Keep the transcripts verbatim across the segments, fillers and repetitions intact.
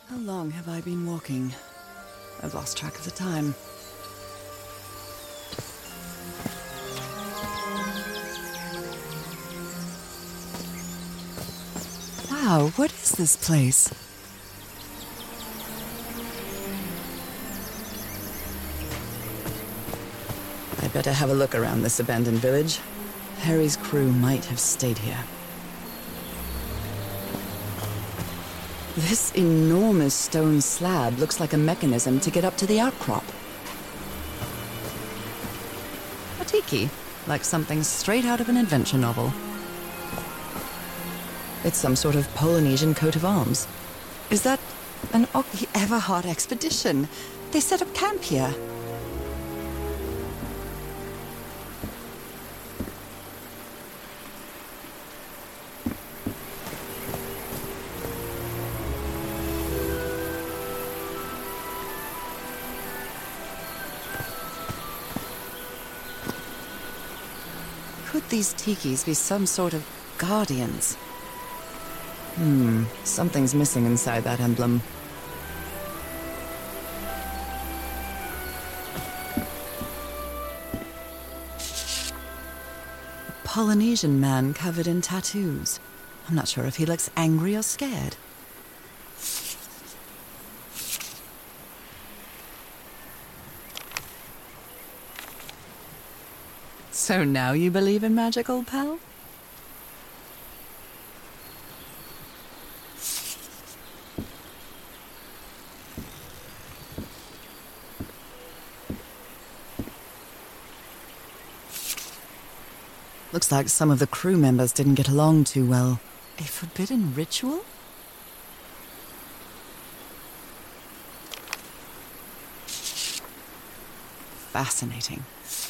How long have I been walking? I've lost track of the time. Wow, what is this place? I'd better have a look around this abandoned village. Harry's crew might have stayed here. This enormous stone slab looks like a mechanism to get up to the outcrop. A tiki, like something straight out of an adventure novel. It's some sort of Polynesian coat of arms. Is that an Ocki Everhard expedition? They set up camp here. Could these tikis be some sort of guardians? Hmm, something's missing inside that emblem. A Polynesian man covered in tattoos. I'm not sure if he looks angry or scared. So now you believe in magic, old pal? Looks like some of the crew members didn't get along too well. A forbidden ritual? Fascinating.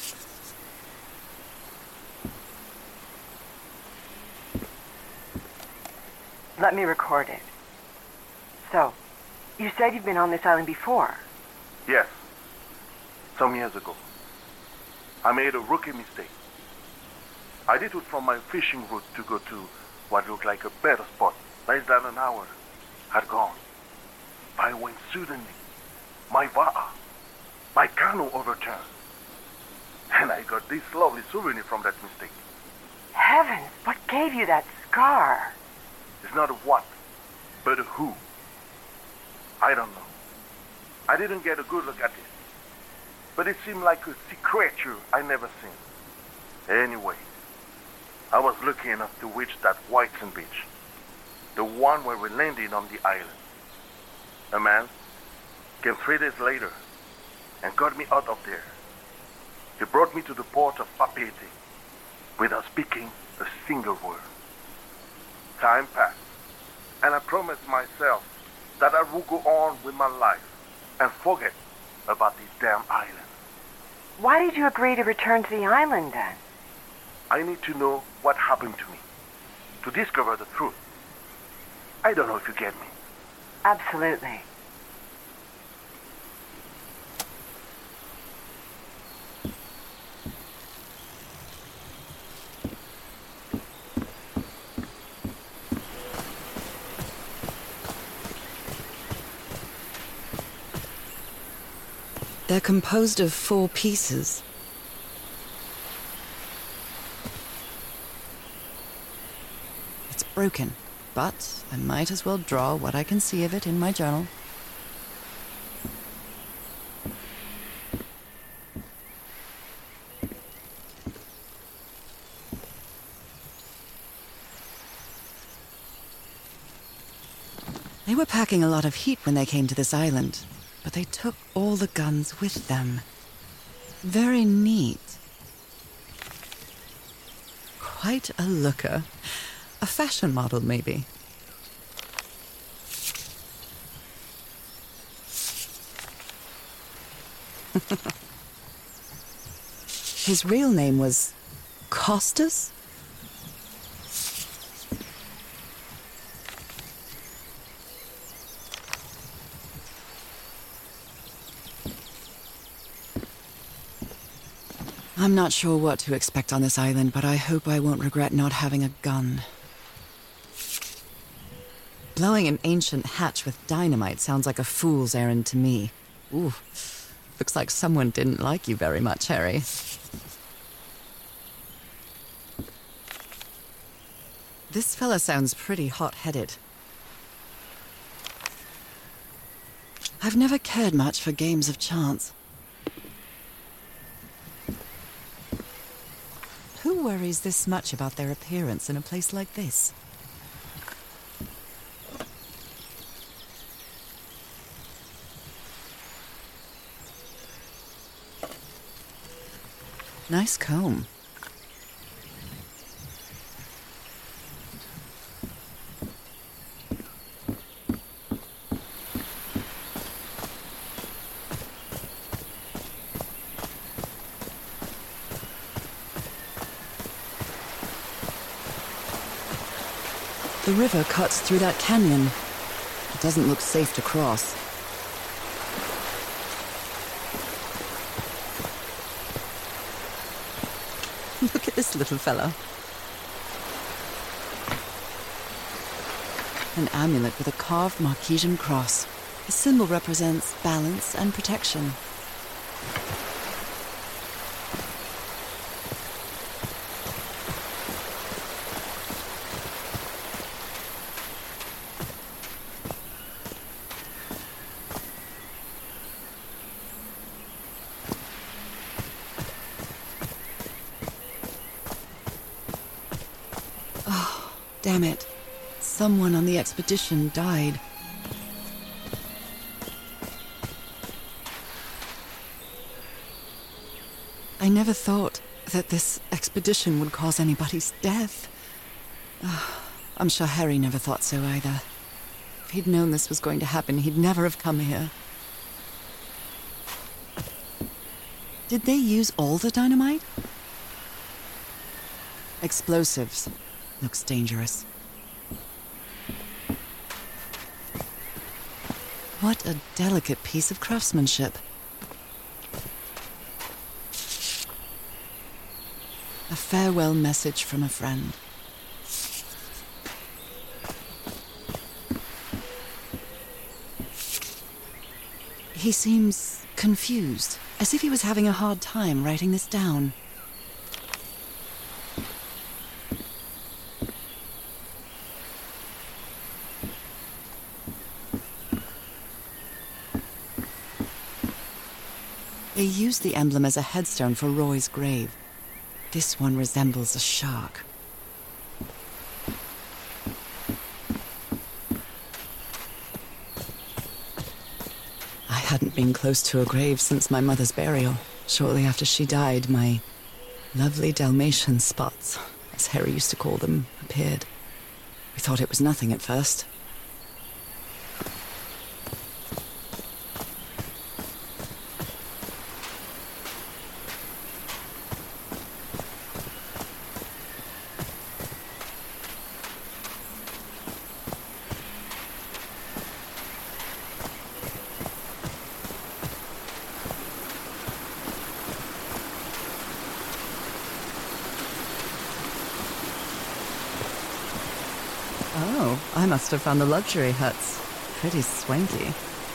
Let me record it. So, you said you've been on this island before? Yes. Some years ago. I made a rookie mistake. I did it from my fishing route to go to what looked like a better spot. Less than an hour had gone. But when suddenly, my va'a, my canoe overturned. And I got this lovely souvenir from that mistake. Heavens, what gave you that scar? It's not a what, but a who. I don't know. I didn't get a good look at it. But it seemed like a sea creature I never seen. Anyway, I was lucky enough to reach that white sand beach. The one where we landed on the island. A man came three days later and got me out of there. He brought me to the port of Papeete without speaking a single word. Time passed, and I promised myself that I would go on with my life and forget about this damn island. Why did you agree to return to the island then? I need to know what happened to me, to discover the truth. I don't know if you get me. Absolutely. They're composed of four pieces. It's broken, but I might as well draw what I can see of it in my journal. They were packing a lot of heat when they came to this island, but they took all the guns with them. Very neat. Quite a looker. A fashion model, maybe. His real name was Costas? I'm not sure what to expect on this island, but I hope I won't regret not having a gun. Blowing an ancient hatch with dynamite sounds like a fool's errand to me. Ooh, looks like someone didn't like you very much, Harry. This fella sounds pretty hot-headed. I've never cared much for games of chance. Who worries this much about their appearance in a place like this? Nice comb. The river cuts through that canyon. It doesn't look safe to cross. Look at this little fella. An amulet with a carved Marquesian cross. The symbol represents balance and protection. Damn it. Someone on the expedition died. I never thought that this expedition would cause anybody's death. Oh, I'm sure Harry never thought so either. If he'd known this was going to happen, he'd never have come here. Did they use all the dynamite? Explosives. Looks dangerous. What a delicate piece of craftsmanship. A farewell message from a friend. He seems confused, as if he was having a hard time writing this down. They used the emblem as a headstone for Roy's grave. This one resembles a shark. I hadn't been close to a grave since my mother's burial. Shortly after she died, my lovely Dalmatian spots, as Harry used to call them, appeared. We thought it was nothing at first. Oh, I must have found the luxury huts. Pretty swanky.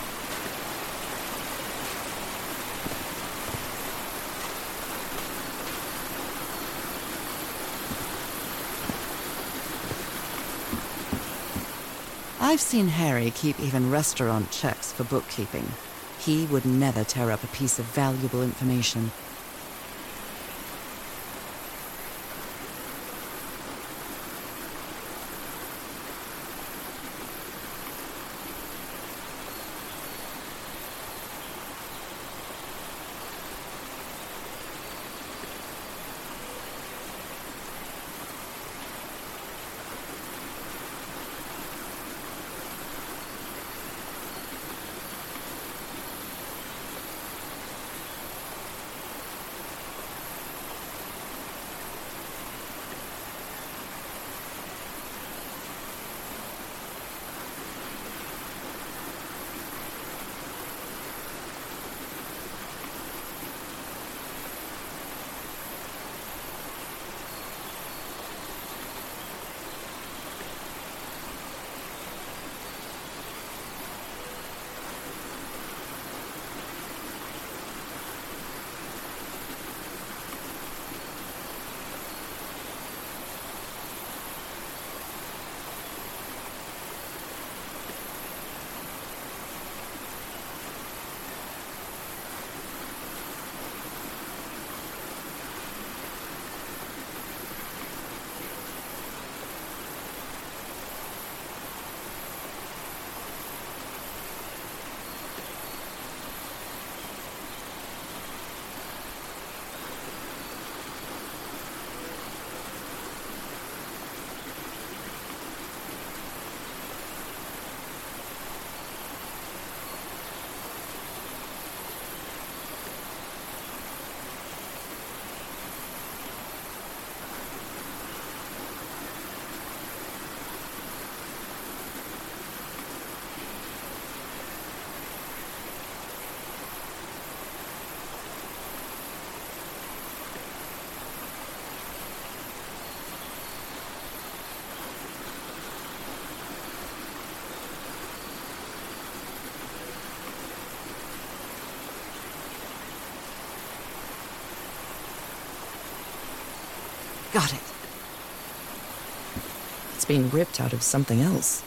I've seen Harry keep even restaurant checks for bookkeeping. He would never tear up a piece of valuable information. Got it. It's been ripped out of something else.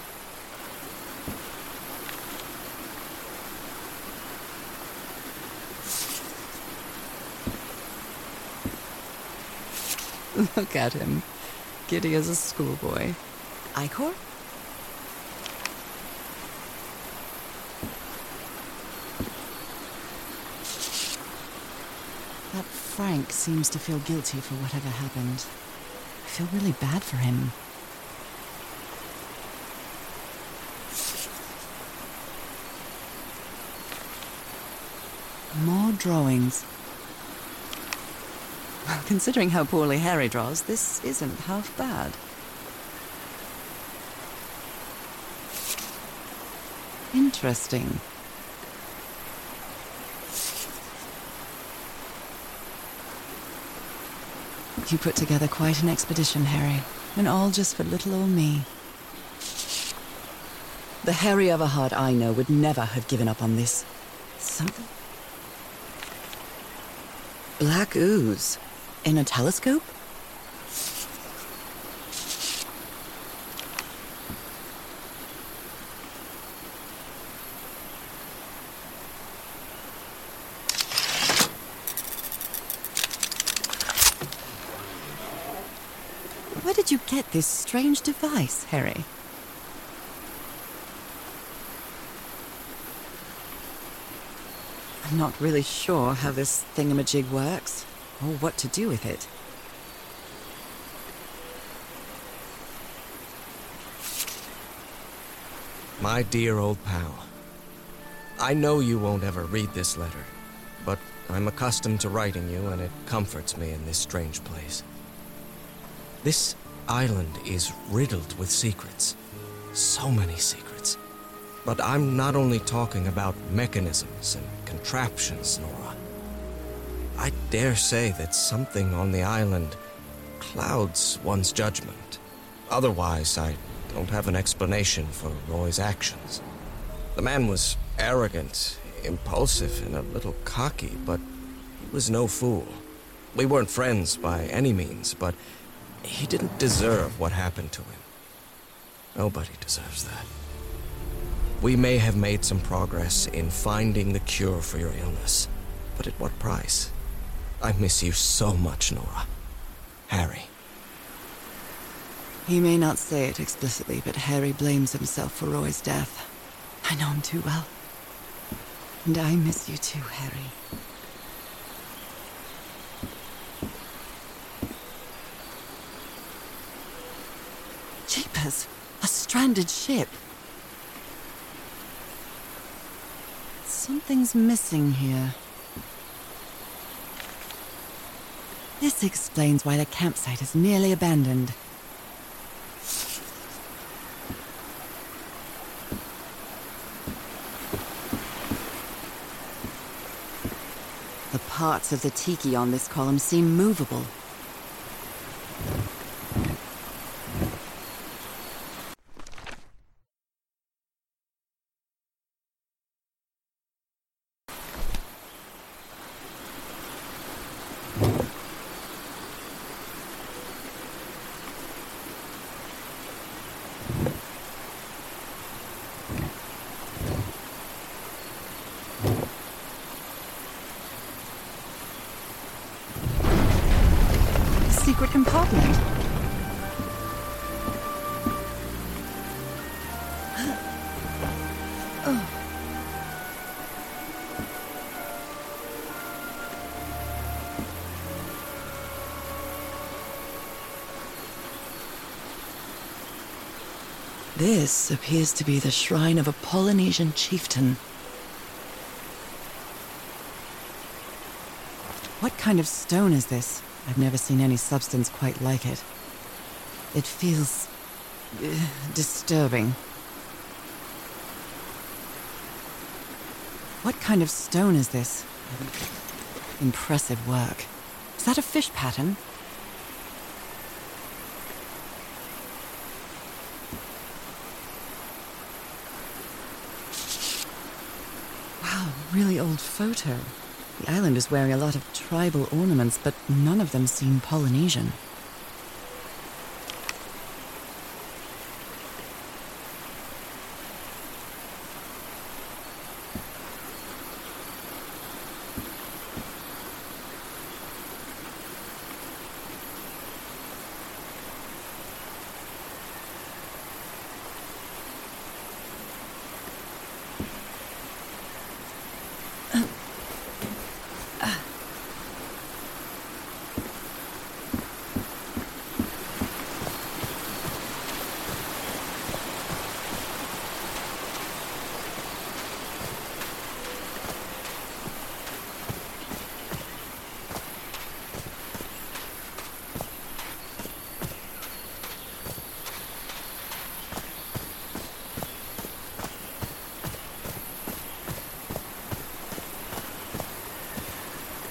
Look at him. Giddy as a schoolboy. Icor? That Frank seems to feel guilty for whatever happened. I feel really bad for him. More drawings. Considering how poorly Harry draws, this isn't half bad. Interesting. You put together quite an expedition, Harry, and all just for little old me. The Harry Everhard I know would never have given up on this. Something? Black ooze. In a telescope? Where did you get this strange device, Harry? I'm not really sure how this thingamajig works, or what to do with it. My dear old pal, I know you won't ever read this letter, but I'm accustomed to writing you, and it comforts me in this strange place. This island is riddled with secrets. So many secrets. But I'm not only talking about mechanisms and contraptions, Nora. I dare say that something on the island clouds one's judgment. Otherwise, I don't have an explanation for Roy's actions. The man was arrogant, impulsive, and a little cocky, but he was no fool. We weren't friends by any means, but he didn't deserve what happened to him. Nobody deserves that. We may have made some progress in finding the cure for your illness, but at what price? I miss you so much, Nora. Harry. He may not say it explicitly, but Harry blames himself for Roy's death. I know him too well. And I miss you too, Harry. Jeepers! A stranded ship! Something's missing here. This explains why the campsite is nearly abandoned. The parts of the tiki on this column seem movable. Secret compartment. Oh. This appears to be the shrine of a Polynesian chieftain. What kind of stone is this? I've never seen any substance quite like it. It feels uh, disturbing. What kind of stone is this? Impressive work. Is that a fish pattern? Wow, really old photo. The island is wearing a lot of tribal ornaments, but none of them seem Polynesian.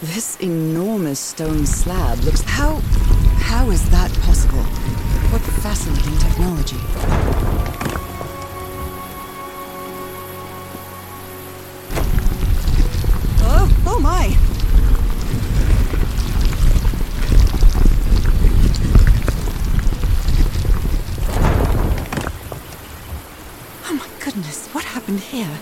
This enormous stone slab looks... How... how is that possible? What fascinating technology. Oh, oh my! Oh my goodness, what happened here?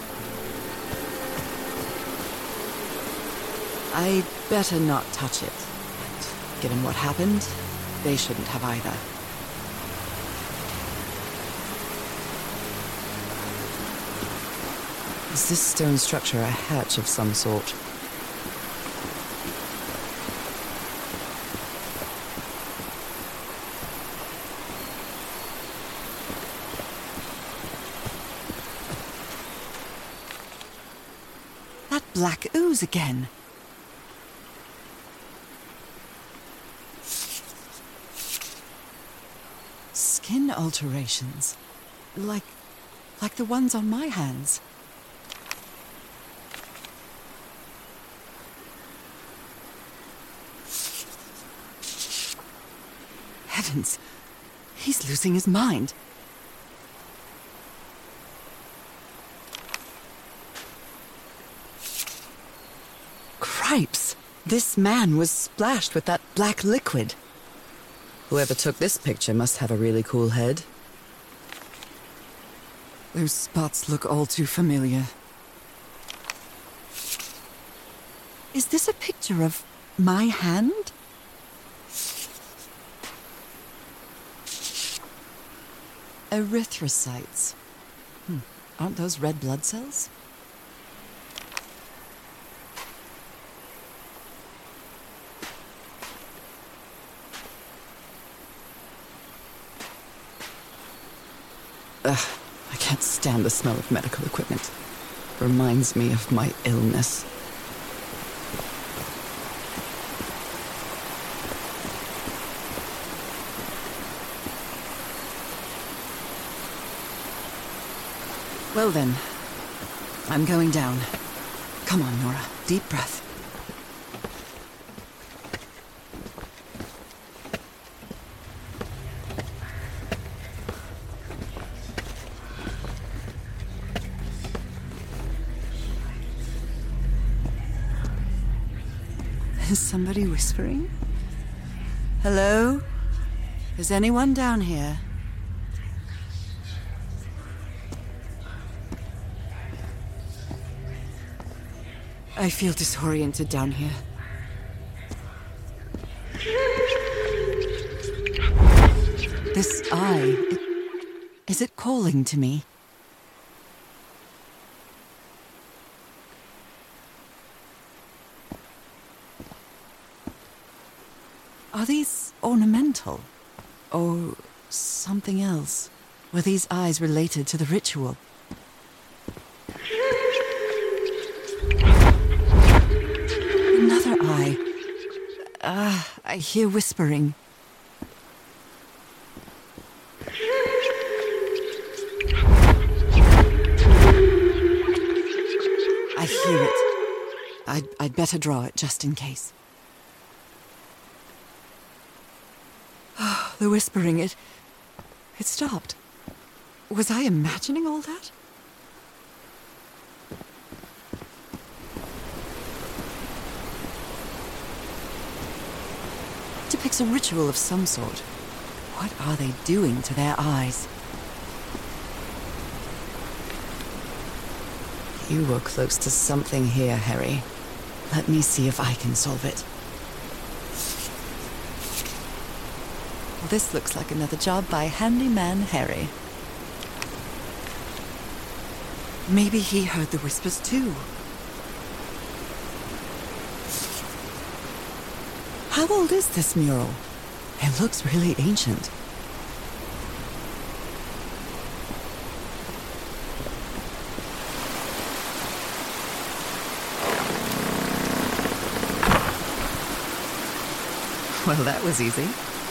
I'd better not touch it. And given what happened, they shouldn't have either. Is this stone structure a hatch of some sort? That black ooze again. Skin alterations. Like... like the ones on my hands. Heavens! He's losing his mind. Cripes! This man was splashed with that black liquid. Whoever took this picture must have a really cool head. Those spots look all too familiar. Is this a picture of my hand? Erythrocytes. Hmm. Aren't those red blood cells? Ugh, I can't stand the smell of medical equipment. Reminds me of my illness. Well then, I'm going down. Come on, Nora. Deep breath. Is somebody whispering? Hello? Is anyone down here? I feel disoriented down here. This eye, it, is it calling to me? Are these ornamental? Or something else? Were these eyes related to the ritual? Another eye. Ah, uh, I hear whispering. I hear it. I'd, I'd better draw it just in case. The whispering, it... it stopped. Was I imagining all that? It depicts a ritual of some sort. What are they doing to their eyes? You were close to something here, Harry. Let me see if I can solve it. This looks like another job by Handyman Harry. Maybe he heard the whispers too. How old is this mural? It looks really ancient. Well, that was easy.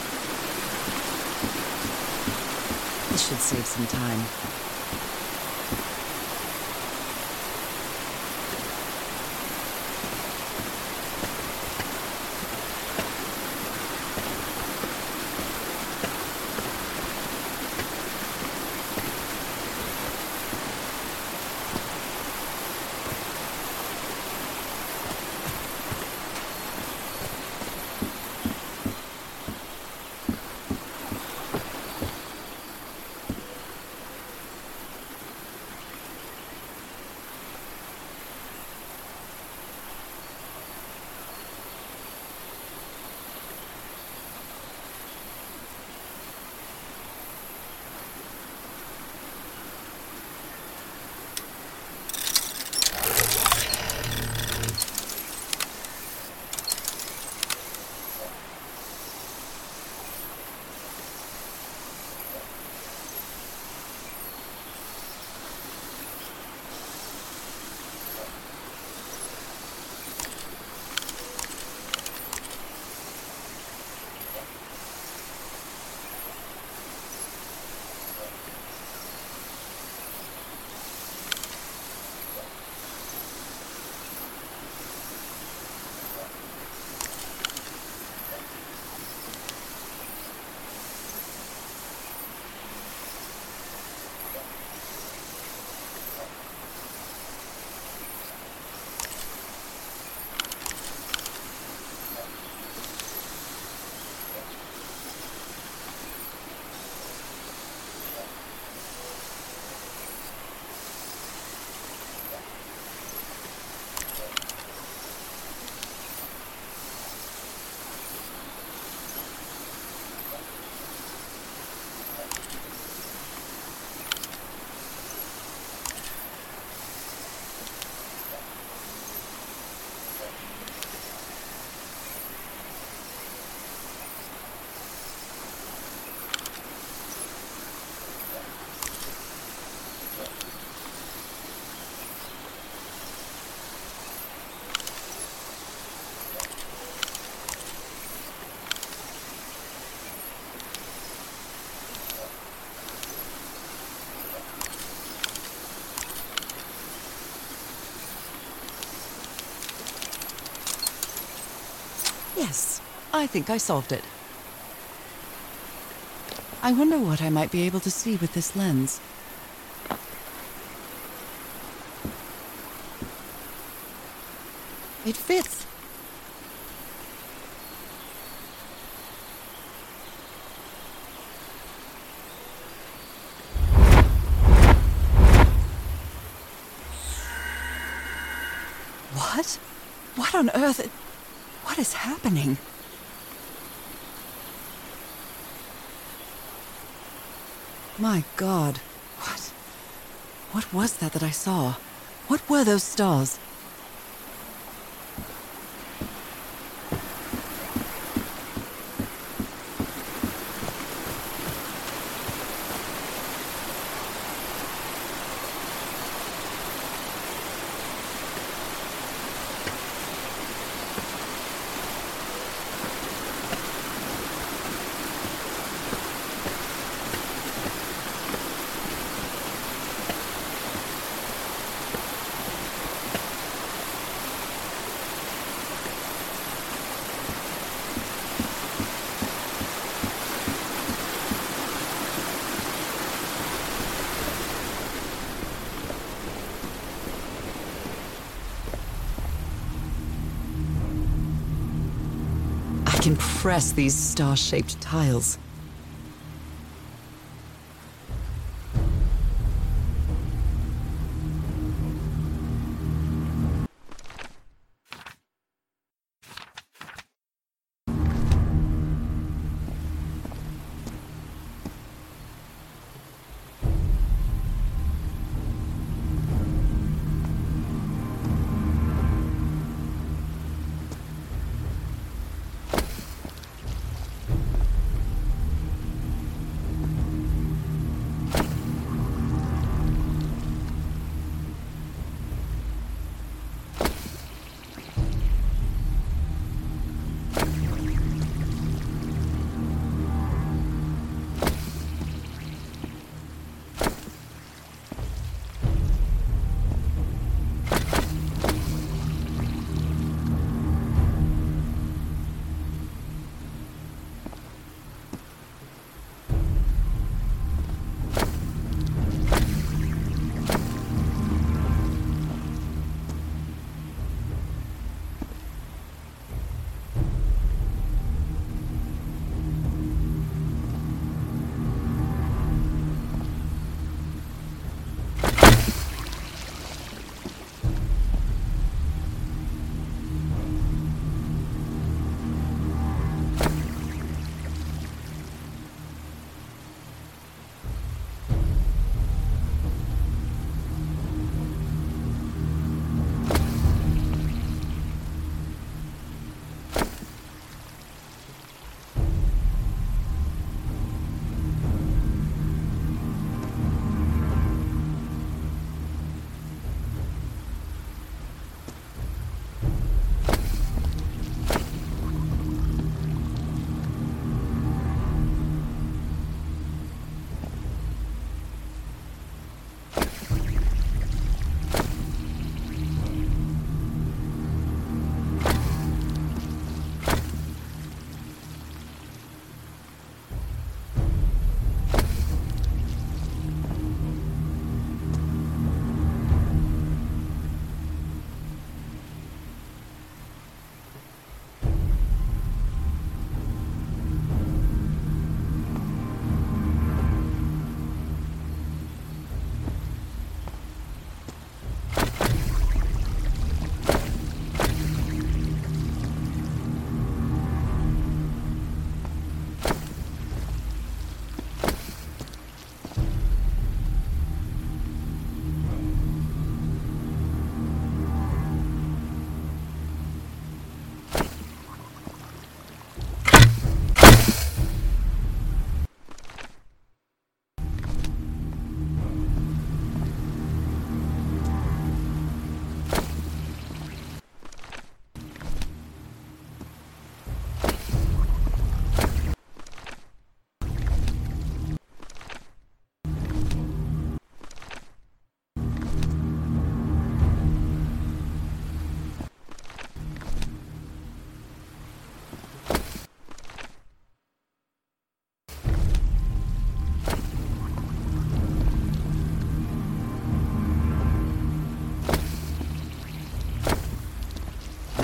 This should save some time. Yes, I think I solved it. I wonder what I might be able to see with this lens. It fits. What? What on earth? What is happening? My God. What? What was that that I saw? What were those stars? I can press these star-shaped tiles.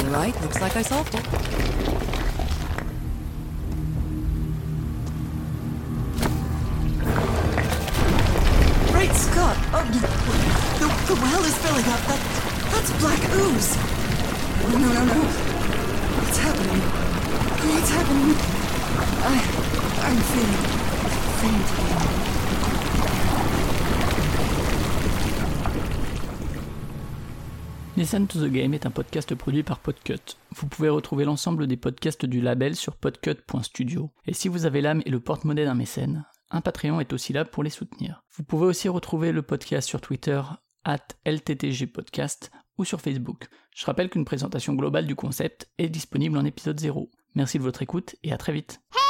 right, looks like I solved it. Great Scott! Oh, the, the well is filling up. That, that's black ooze. No, no, no, no. What's happening? What's happening? I, I'm feeling faint. Listen to the Game est un podcast produit par Podcut. Vous pouvez retrouver l'ensemble des podcasts du label sur podcut point studio. Et si vous avez l'âme et le porte-monnaie d'un mécène, un Patreon est aussi là pour les soutenir. Vous pouvez aussi retrouver le podcast sur Twitter, arobase L T T G podcast, ou sur Facebook. Je rappelle qu'une présentation globale du concept est disponible en épisode zéro. Merci de votre écoute et à très vite.